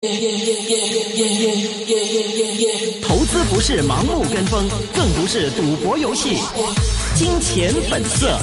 投資不是盲目跟風，更不是賭博遊戲。金錢本色。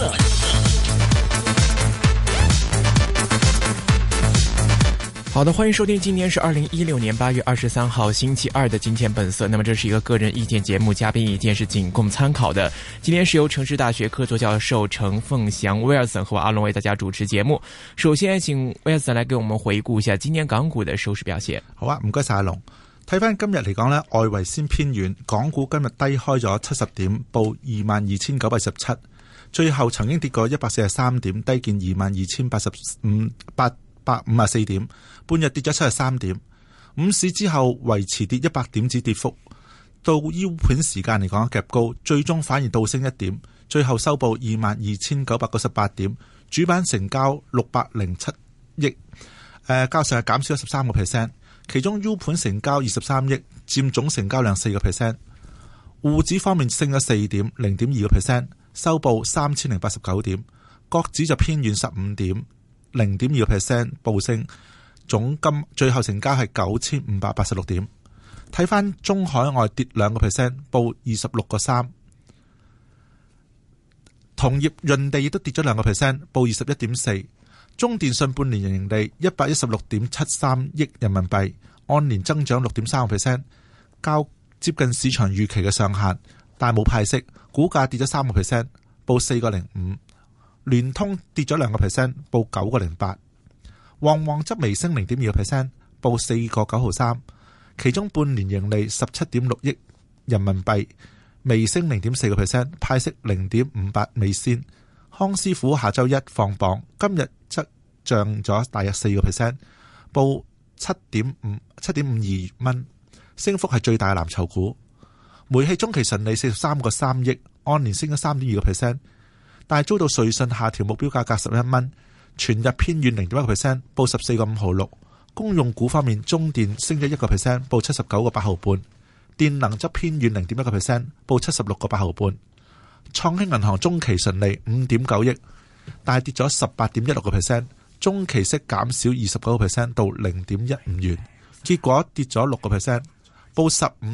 好的，歡迎收聽，今天是2016年8月23號星期二的金錢本色。那麼這是一個個人意見節目，嘉賓意見是僅供參考的。今天是由城市大學客座教授程鳳祥 Wilson 和我阿龍為大家主持節目。首先請 Wilson 來給我們回顧一下今年港股的收市表現。 好啊，唔該晒阿龍。睇翻今日嚟講呢，外圍先偏軟，港股今日低開咗70點，報22,917，最後曾經跌過143點，低見22,054點，半日跌咗73點。午市之後維持跌100點子跌幅，到 U 盤時間嚟講夾高，最終反而倒升1點，最後收報22,998點，主板成交607億，較上日減少咗13%。其中 U 盤成交23億，佔總成交量4%。滬指方面升咗4點，0.2%，收報3089點。國指就偏軟15點，0.2% 報升。總金最後成交係9586點。睇翻中海外跌2%，報26個3。同業潤地亦都跌咗2%，報21.4。中電信半年盈利116.73億人民幣，按年增長6.3%，較接近市場預期嘅上限，但冇派息，股價跌咗3%，報4個05。聯通跌咗2%，報9個08。旺旺則微升0.2%，報4個9毫3。其中半年盈利17.6億人民幣，微升0.4%，派息0.58美仙。康師傅下周一放榜，今日則漲咗大約4%，報7.52蚊，升幅係最大嘅藍籌股。煤氣中期純利43個3億，按年升咗3.2%，但係遭到瑞信下調目標價格11蚊，全日偏軟0.1%，報14個5毫6。公用股方面，中電升咗1%，報79個8毫半，電能則偏軟0.1%，報76個8毫半。創興銀行中期純利5.9億，但係跌咗18.16%，中期息減少29% 到0.15元，結果跌咗6%，報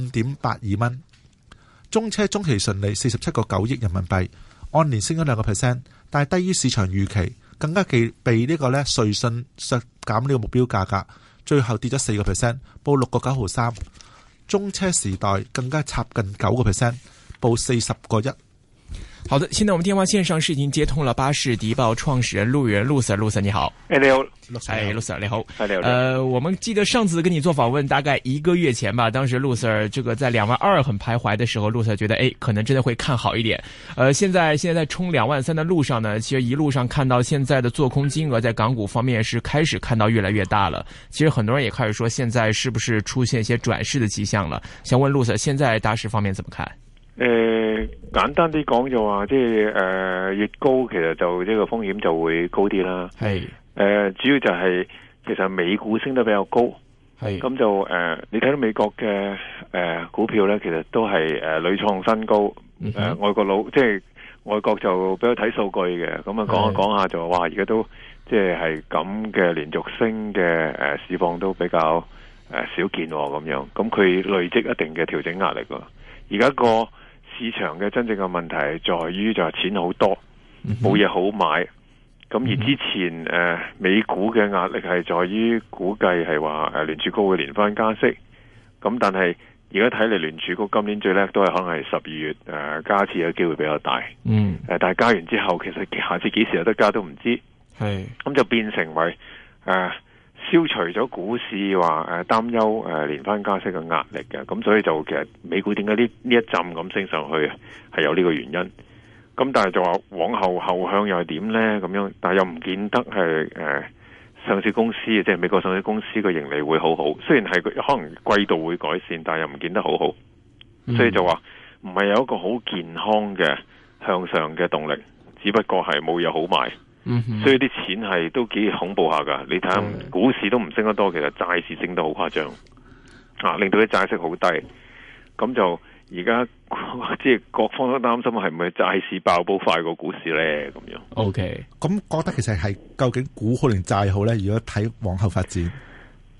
15.82蚊。中車中期純利47個9億人民幣，按年升咗2%，但係低於市場預期，更加被呢個瑞信削減呢個目標價格，最後跌咗4%，報6個9毫3。中車時代更加插近9%，報40個1。 好的，現在我們電話線上是已經接通了巴士的報創始人陸源陸 Sir 你好。 你好， 陸 Sir 你好。 你好。 我們記得上次跟你做訪問大概1個月前吧，當時陸 Sir 這個在22000很徘徊的時候，陸 Sir 覺得可能真的會看好一點。現在在衝23000的路上呢，其實一路上看到現在的做空金額在港股方面是開始看到越來越大了。其實很多人也開始說，現在是不是出現一些轉勢的跡象了？想問陸 Sir，現在大市方面怎麼看？ 簡單啲講就話，即係越高，其實就呢個風險就會高啲啦。係主要就係其實美股升得比較高，係咁就你睇到美國嘅股票咧，其實都係屢創新高。外國即係外國就比較睇數據嘅，咁啊講下講下就話而家都即係咁嘅連續升嘅市況都比較少見咁樣，咁佢累積一定嘅調整壓力㗎。而家個市場嘅真正嘅問題係在於就係錢好多，冇嘢好買。咁而之前美股嘅壓力係在於估計係話聯儲局會連番加息。咁但係而家睇嚟聯儲局今年最叻都係可能係12月加次嘅機會比較大。但係加完之後其實下次幾時有得加都唔知。咁就變成為消除咗股市話擔憂連番加息嘅壓力嘅，咁所以就其實美股點解呢一陣咁升上去係有呢個原因。咁但係就話往後向又係點呢？咁樣，但係又唔見得係上市公司即係美國上市公司嘅盈利會好好，雖然係可能季度會改善，但係又唔見得好好。所以就話唔係有一個好健康嘅向上嘅動力，只不過係冇嘢好賣。所以啲錢係都幾恐怖下噶，你睇下股市都唔升得多，其實債市升得好誇張，令到啲債息好低，咁就而家即係各方都擔心係咪債市爆煲快過股市咧咁樣。 OK，咁覺得其實係究竟股好定債好咧？如果睇往後發展，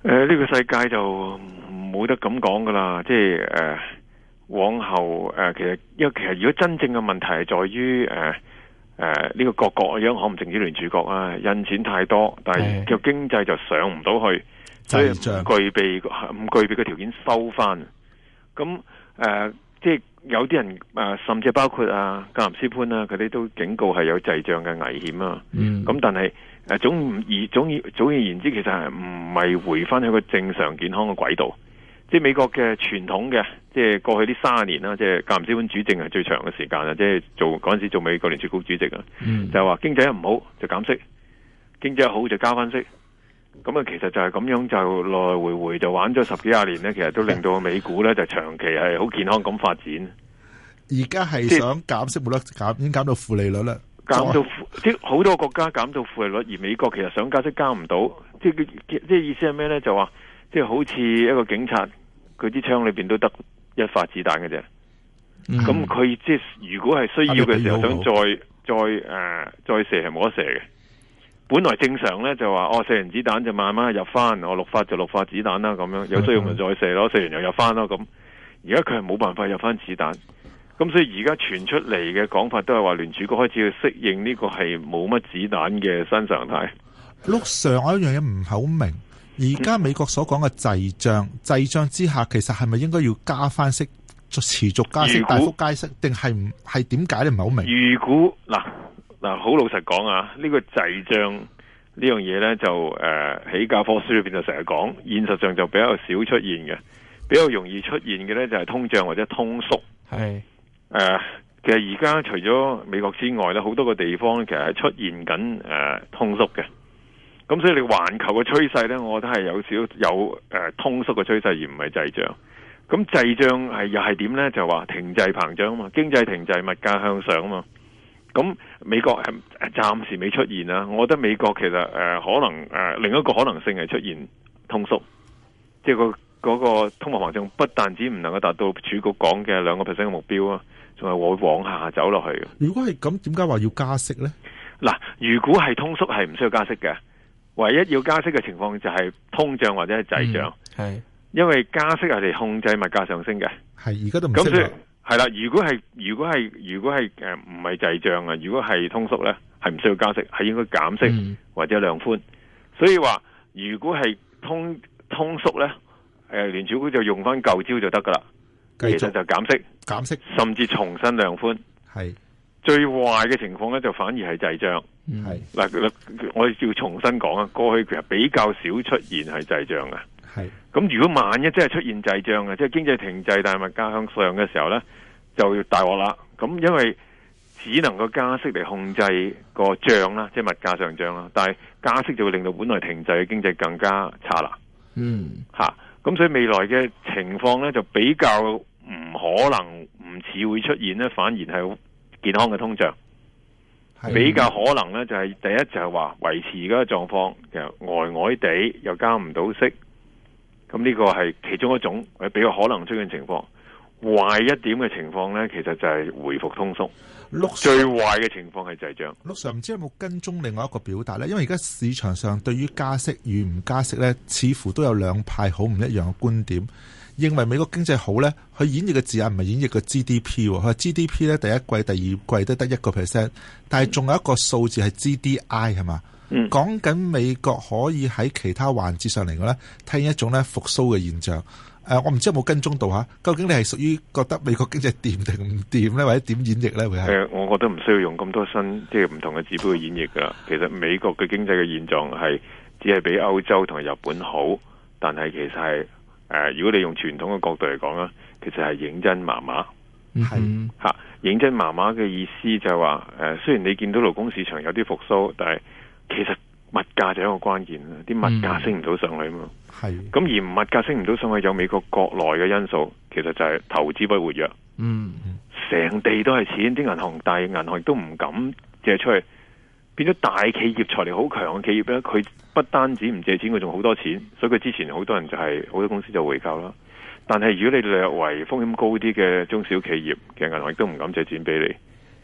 呢個世界就冇得咁講噶啦，即係往後其實因為如果真正嘅問題係在於呢個各國央行唔淨止聯儲局啊，印錢太多，但係個經濟就上唔到去，所以唔具備嘅條件收翻。咁即係有啲人甚至包括格林斯潘啊，佢哋都警告係有滯脹嘅危險啊。咁但係總而言之，其實係唔係回翻去個正常健康嘅軌道。即係美國嘅傳統嘅，即係過去呢30年啦，即係格林斯潘主政係最長嘅時間啦。即係嗰陣時做美國聯儲局主席啊，就係話經濟一唔好就減息，經濟一好就加翻息。咁啊，其實就係咁樣就來來回回就玩咗10幾20年咧，其實都令到美股咧就長期係好健康咁發展。 而家係想減息冇得減，已經減到負利率啦。 減到即係好多國家減到負利率，而美國其實想加息加唔到。即係意思係咩咧？就話即係好似一個警察，佢支槍裏邊都得一發子彈嘅啫。咁佢即係如果係需要嘅時候，想再射係冇得射嘅。本來正常咧就話射完子彈就慢慢入翻，我6發就6發子彈啦，咁樣有需要咪再射咯，射完又入翻咯咁。而家佢係冇辦法入翻子彈，咁所以而家傳出嚟嘅講法都係話聯儲局開始去適應呢個係冇乜子彈嘅新常態。 陸上我有一樣嘢唔係好明，而家美國所講嘅滯脹之下，其實係咪應該要加翻息，持續加息，大幅加息，定係唔係點解咧？唔係好明。 如果嗱，好老實講啊，呢個滯脹呢樣嘢咧就喺教科書裏邊就成日講，現實上就比較少出現嘅，比較容易出現嘅咧就係通脹或者通縮。係其實而家除咗美國之外咧，好多個地方其實係出現緊通縮嘅。咁所以你環球嘅趨勢咧，我覺得係有通縮嘅趨勢，而唔係滯脹。咁滯脹又係點咧？就話停滯膨脹啊嘛，經濟停滯，物價向上啊嘛。咁美國暫時未出現啊，我覺得美國其實可能另一個可能性係出現通縮，即係嗰個通貨膨脹不但止唔能夠達到儲局講嘅2% 嘅目標啊，仲係會往下走落去。 如果係咁，點解話要加息咧？ 嗱，如果係通縮係唔需要加息嘅，唯一要加息嘅情況就係通脹或者係滯脹。係因為加息係嚟控制物價上升嘅。係而家都唔識。係啦，如果係唔係滯脹啊，如果係通縮咧，係唔需要加息，係應該減息或者量寬。所以話如果係通縮咧，聯儲局就用翻舊招就得噶啦，其實就減息，甚至重新量寬。係最壞嘅情況咧，就反而係滯脹。係嗱，我哋要重新講啊，過去其實比較少出現係滯脹嘅。係咁，如果萬一真係出現滯脹嘅，即係經濟停滯但係物價向上嘅時候咧，就要大鑊啦。咁因為只能夠加息嚟控制個漲啦，即係物價上漲啦。但係加息就會令到本來停滯嘅經濟更加差啦。咁所以未來嘅情況咧就比較唔可能唔似會出現咧，反而係健康嘅通脹。比較可能咧就係第一就係話維持而家嘅狀況，其實呆地又加唔到息。咁呢個係其中一種比較可能出現情況。壞一點嘅情況呢，其實就係回復通縮。最壞嘅情況係滯脹。陸上唔知有冇跟蹤另外一個表達呢？因為而家市場上對於加息與唔加息呢，似乎都有兩派好唔一樣嘅觀點。認為美國經濟好呢，佢演繹嘅字眼唔係演繹個 GDP，佢話 GDP 呢，第一季、第二季都得1%，但係仲有一個數字係 GDI 係嘛？講緊美國可以喺其他環節上嚟講咧，體現一種咧復甦嘅現象。我唔知有冇跟蹤到吓，究竟你係屬於覺得美國經濟掂定唔掂咧，或者點演繹咧？會係我覺得唔需要用咁多新即係唔同嘅指標去演繹噶。其實美國嘅經濟嘅現狀係只係比歐洲同埋日本好，但係其實係如果你用傳統嘅角度嚟講啦，其實係認真麻麻。係吓認真麻麻嘅意思就係話雖然你見到勞工市場有啲復甦，但係其實物價就係一個關鍵啦，啲物價升唔到上去嘛。係咁而物價升唔到上去，有美國國內嘅因素，其實就係投資不活躍。成地都係錢，啲銀行大銀行亦都唔敢借出去，變咗大企業財力好強嘅企業咧，佢不單止唔借錢，佢仲好多錢，所以佢之前好多人就係好多公司就回購啦。但係如果你略為風險高啲嘅中小企業嘅銀行亦都唔敢借錢俾你。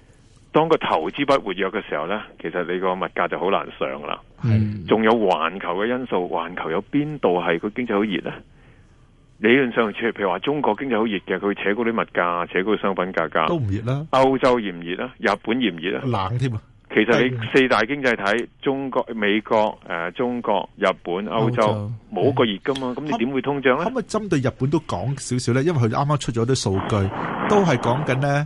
當個投資不活躍嘅時候呢，其實你個物價就好難上啦。仲有環球嘅因素，環球有邊度係個經濟好熱呢？理論上，譬如話中國經濟好熱嘅，佢會扯高啲物價，扯高啲商品價格。 都唔熱啦。 歐洲熱唔熱啦？日本熱唔熱啦？ 冷添啊！ 其實你四大經濟體，中國、美國、中國、日本、歐洲，冇一個熱噶嘛，咁你點會通脹呢？ 可唔可以針對日本都講少少呢？因為佢啱啱出咗啲數據，都係講緊呢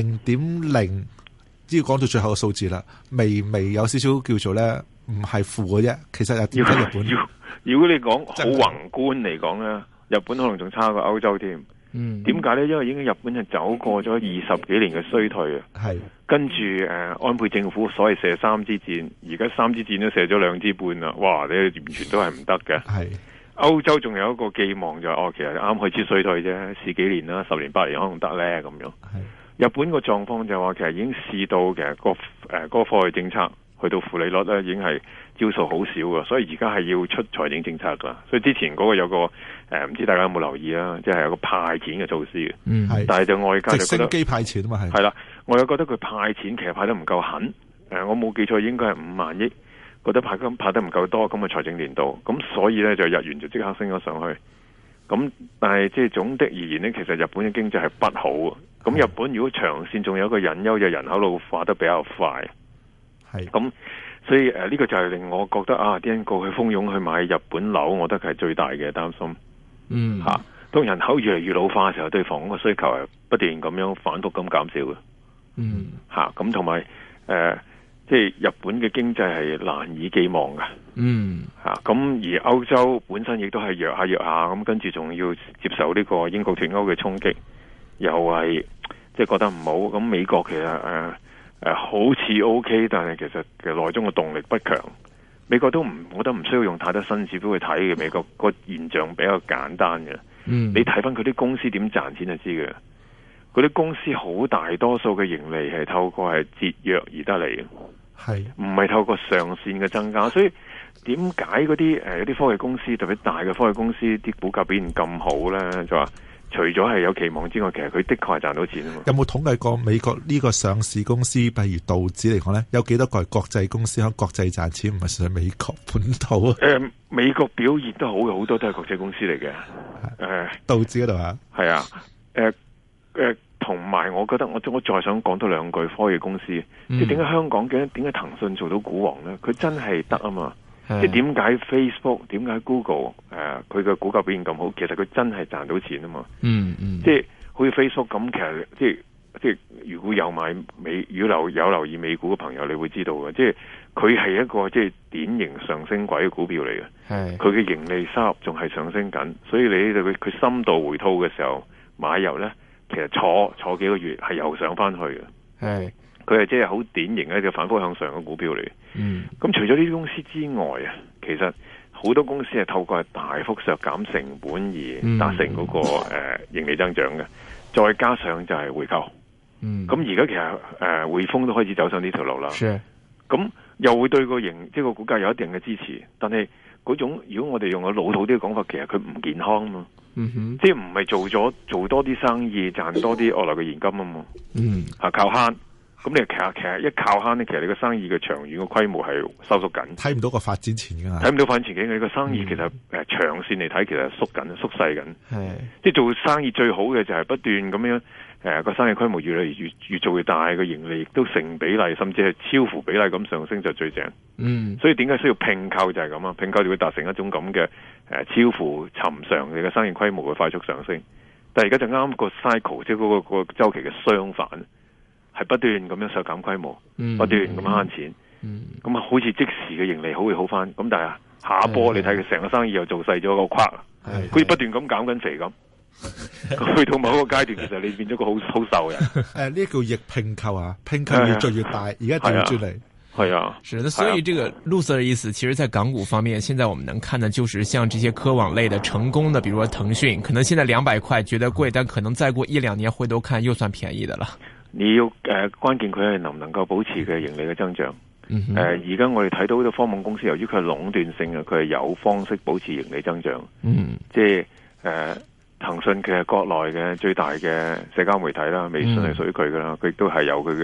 0.0，只要講到最後嘅數字啦，微有少少叫做呢，唔係負嘅啫。其實又點解日本？ 如果你講好宏觀嚟講呢，日本可能仲差過歐洲添。點解呢？因為已經日本係走過咗20幾年嘅衰退啊。係跟住安倍政府所謂射3支箭，而家3支箭都射咗2支半啦。哇！你完全都係唔得嘅。係歐洲仲有一個寄望就係其實啱開始衰退啫，試幾年啦，10年8年可能得呢咁樣。日本個狀況就話其實已經試到嘅嗰個貨幣政策去到負利率咧，已經係招數好少㗎，所以而家係要出財政政策噶。所以之前嗰個有個唔知大家有冇留意啦，即係有個派錢嘅措施嘅。但係就外界就覺得直升機派錢啊嘛， 係啦，我又覺得佢派錢其實派得唔夠狠。我冇記錯應該係5萬億，覺得派得唔夠多咁嘅財政年度，咁所以咧就日元就即刻升咗上去。咁但係即係總的而言呢，其實日本嘅經濟係不好嘅。咁日本如果長線仲有一個隱憂，就人口老化得比較快。係咁，所以呢個就係令我覺得啲人過去蜂擁去買日本樓，我覺得係最大嘅擔心。當人口越嚟越老化嘅時候，對房屋嘅需求係不斷咁樣反覆咁減少嘅。咁同埋即係日本嘅經濟係難以寄望嘅。咁而歐洲本身亦都係弱下，咁跟住仲要接受呢個英國脫歐嘅衝擊，又係即係覺得唔好。咁美國其實好似 OK， 但係其實嘅內中嘅動力不強。美國我覺得唔需要用太多新指標去睇嘅。美國個現象比較簡單嘅。你睇翻佢啲公司點賺錢就知嘅。嗰啲公司好大多數嘅盈利係透過係節約而得嚟嘅，係唔係透過上線嘅增加？所以點解嗰啲有啲科技公司，特別大嘅科技公司啲股價表現咁好咧？就話除咗係有期望之外，其實佢的確係賺到錢啊嘛。有冇統計過美國呢個上市公司，譬如道指嚟講咧，有幾多個係國際公司喺國際賺錢，唔係純粹美國本土啊？美國表現都好嘅，好多都係國際公司嚟嘅。道指嗰度啊，係啊，同埋我覺得我再想講多兩句科技公司，即係點解香港點解騰訊做到股王咧？佢真係得啊嘛！即係點解 Facebook、點解 Google 佢嘅股價表現咁好？其實佢真係賺到錢啊嘛！即係好似 Facebook 咁，其實即係如果有留意美股嘅朋友，你會知道嘅，即係佢係一個即係典型上升軌嘅股票嚟嘅。佢嘅盈利收入仲係上升緊，所以你佢深度回吐嘅時候買入咧。其實坐幾個月係又上翻去嘅，佢係即係好典型嘅一個反覆向上嘅股票嚟。咁除咗呢啲公司之外啊，其實好多公司係透過大幅削減成本而達成嗰個盈利增長嘅，再加上就係回購。咁而家其實匯豐都開始走上呢條路啦。咁又會對個即係個股價有一定嘅支持，但係嗰種如果我哋用個老土啲嘅講法，其實佢唔健康啊嘛。即係唔係做多啲生意賺多啲外來嘅現金啊嘛。靠慳。咁你其實一靠慳咧，其實你個生意嘅長遠嘅規模係收縮緊，睇唔到個發展前景，睇唔到發展前景。你個生意其實長線嚟睇，其實縮細緊。即係做生意最好嘅就係不斷咁樣個生意規模越嚟越做越大，個盈利亦都成比例甚至係超乎比例咁上升就最正。所以點解需要併購就係咁啊？併購就會達成一種咁嘅超乎尋常嘅生意規模嘅快速上升。但係而家就啱個 cycle， 即係嗰個週期嘅相反。係不斷咁樣削減規模，不斷咁慳錢，咁好似即時嘅盈利會好翻，咁但係下一波你睇佢成個生意又做細咗個框，好似不斷咁減緊肥咁，去到某一個階段，其實你變咗個好瘦人。呢叫逆併購啊，併購越做越大，而家調轉嚟。係啊， 是的，所以這個陸 Sir 的意思，其實在港股方面，現在我們能看的就是像這些科網類的成功的，比如說騰訊，可能現在200塊覺得貴，但可能再過1-2年回頭看又算便宜的了。 你要關鍵佢係能唔能夠保持嘅盈利嘅增長。而家我哋睇到好多科網公司，由於佢係壟斷性嘅，佢係有方式保持盈利增長。即係騰訊其實國內嘅最大嘅社交媒體啦，微信係屬於佢噶啦，佢亦都係有佢嘅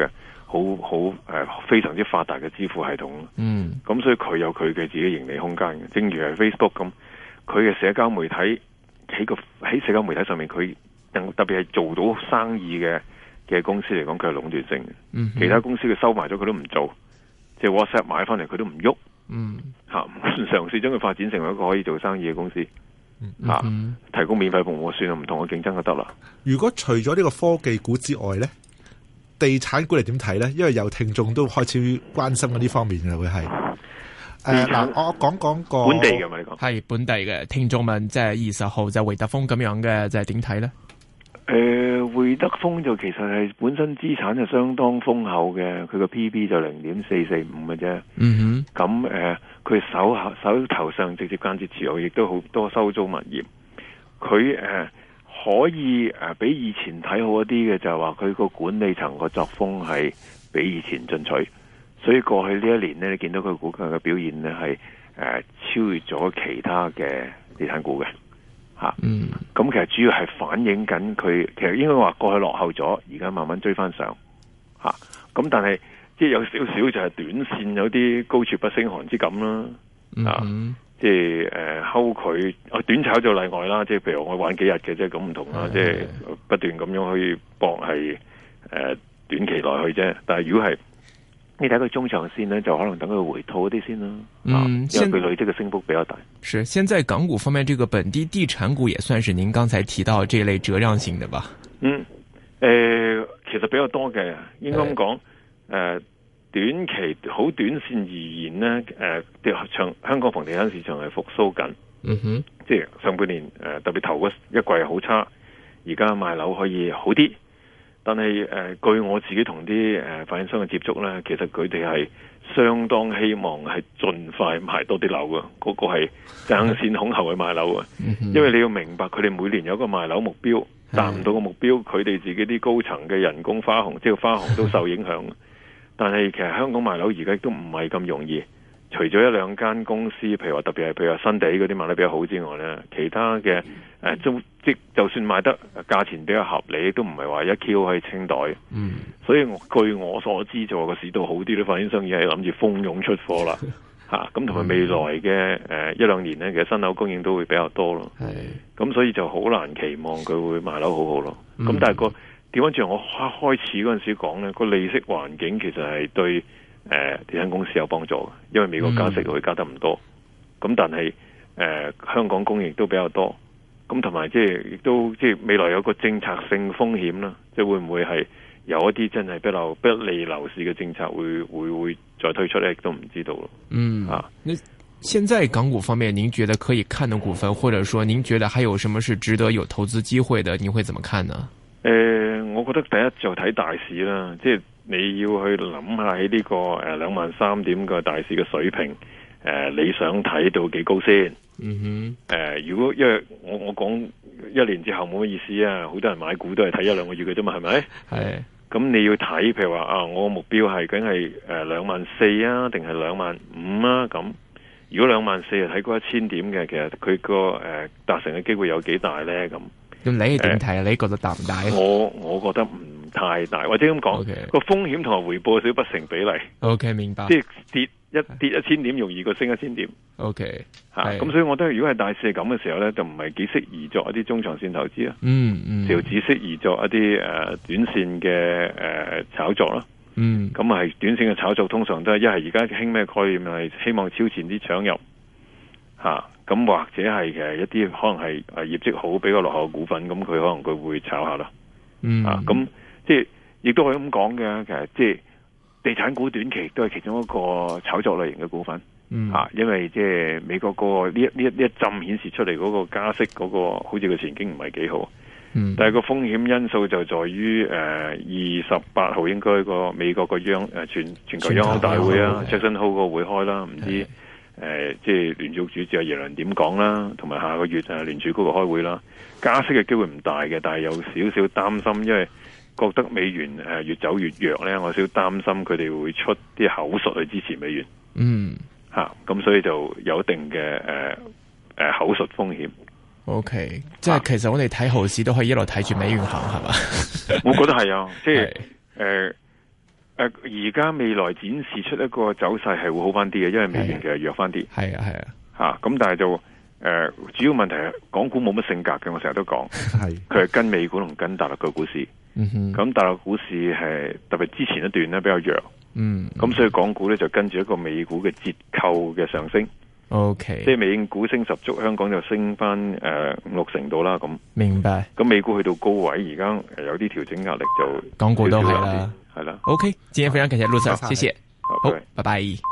非常之發達嘅支付系統。咁所以佢有佢嘅自己盈利空間嘅。正如係 Facebook 咁，佢嘅社交媒體喺社交媒體上面，佢特別係做到生意嘅公司嚟講，佢係壟斷性嘅。其他公司佢收埋咗，佢都唔做，即係 WhatsApp 買翻嚟佢都唔喐。嘗試將佢發展成為一個可以做生意嘅公司。提供免費服務，算係唔同嘅競爭就得啦。 如果除咗呢個科技股之外呢，地產股你點睇呢？因為有聽眾都開始關心嗰啲方面嘅會係。我講個本地嘅嘛，你講係本地嘅聽眾問，即係20號就會德豐咁樣嘅，就係點睇呢？ 會德豐就其實係本身資產就相當豐厚嘅，佢個 P/B 就0.445嘅啫。咁佢手頭上直接間接持有，亦都好多收租物業。佢可以比以前睇好一啲嘅，就係話佢個管理層個作風係比以前進取，所以過去呢一年呢，你見到佢股價嘅表現呢係超越咗其他嘅地產股嘅。咁其實主要係反映緊佢，其實應該話過去落後咗，而家慢慢追翻上。咁但係即係有少少就係短線有啲高處不勝寒之感啦。即係睺佢短炒就例外啦。即係譬如我玩幾日嘅啫，咁唔同啦。即係不斷咁樣去搏係短期內去啫。但係如果係你睇佢中長線呢，就可能等佢回吐一啲先啦。因為佢累積嘅升幅比較大。 是，現在港股方面，這個本地地產股也算是您剛才提到這類折讓型的吧？ 其實比較多嘅，應該咁講。短期好短線而言呢，香港房地產市場係復甦緊。即係上半年特別頭嗰一季好差，而家賣樓可以好啲。但係據我自己同啲發展商嘅接觸咧，其實佢哋係相當希望係盡快賣多啲樓嘅，嗰個係爭先恐後去賣樓嘅。因為你要明白，佢哋每年有個賣樓目標，達唔到個目標，佢哋自己啲高層嘅人工花紅，即係花紅都受影響。但係其實香港賣樓而家都唔係咁容易，除咗一兩間公司，譬如話特別係譬如話新地嗰啲賣得比較好之外咧，其他嘅就算賣得價錢比較合理，都唔係話一 Q 可以清袋。所以據我所知，就個市道好啲，啲發展商已經係諗住蜂擁出貨啦。咁同埋未來嘅一兩年咧，其實新樓供應都會比較多咯。咁所以就好難期望佢會賣樓好好咯。咁但係調翻轉，我開始嗰陣時講咧，個利息環境其實係對地產公司有幫助嘅，因為美國加息會加得唔多。咁但係香港供應都比較多。咁同埋即係亦都即係未來有個政策性風險啦，即係會唔會係有一啲真係比較不利樓市嘅政策會再推出咧，亦都唔知道咯。 那現在港股方面，您覺得可以看的股份，或者說您覺得還有什麼是值得有投資機會的，您會怎麼看呢？ 我覺得第一就睇大市啦，即係你要去諗下喺呢個23,000點嘅大市嘅水平，你想睇到幾高先？如果因為我講1年之後冇乜意思啊，好多人買股都係睇1-2個月嘅啫嘛，係咪？咁你要睇，譬如話我目標係梗係24,000啊，定係25,000啊？咁如果24,000睇嗰1000點嘅，其實佢個達成嘅機會有幾大咧？咁你點睇啊？你覺得大唔大？ 我覺得唔太大，或者咁講，個風險同埋回報少不成比例。 OK， 明白。 即係跌1000點容易過升1000點。 OK， 咁所以我覺得如果係大市係咁嘅時候咧，就唔係幾適宜作一啲中長線投資啊。就只適宜作一啲短線嘅炒作啦。咁係短線嘅炒作通常都係一係而家興咩概念，係希望超前啲搶入。咁或者係嘅一啲可能係業績好比較落後嘅股份，咁佢可能佢會炒下啦。咁即係亦都可以咁講嘅，其實即係地產股短期都係其中一個炒作類型嘅股份。因為即係美國個呢一陣顯示出嚟嗰個加息嗰個好似個前景唔係幾好。但係個風險因素就在於28號應該個美國個全球央行大會啊，Jackson Hole 個會開啦，唔知即係聯儲主席阿耶倫點講啦，同埋下個月聯儲局個開會啦，加息嘅機會唔大嘅，但係有少少擔心，因為覺得美元越走越弱咧，我少擔心佢哋會出啲口術去支持美元。咁所以就有一定嘅口述風險。 OK， 即係其實我哋睇後市都可以一路睇住美元行，係嘛？ 我覺得係啊，即係而家未來展示出一個走勢係會好翻啲嘅，因為美元其實弱翻啲。 係啊， 吓咁，但係就主要問題係港股冇乜性格嘅，我成日都講，佢係跟美股同跟大陸嘅股市。咁大陸股市係特別之前一段咧比較弱。咁所以港股咧就跟住一個美股嘅折扣嘅上升。 OK， 即係美股升十足，香港就升翻5-6成度啦。咁明白。 咁美股去到高位，而家有啲調整壓力就港股都係啦。 係啦。 OK，今天非常感謝陸 Sir，謝謝。好，拜拜。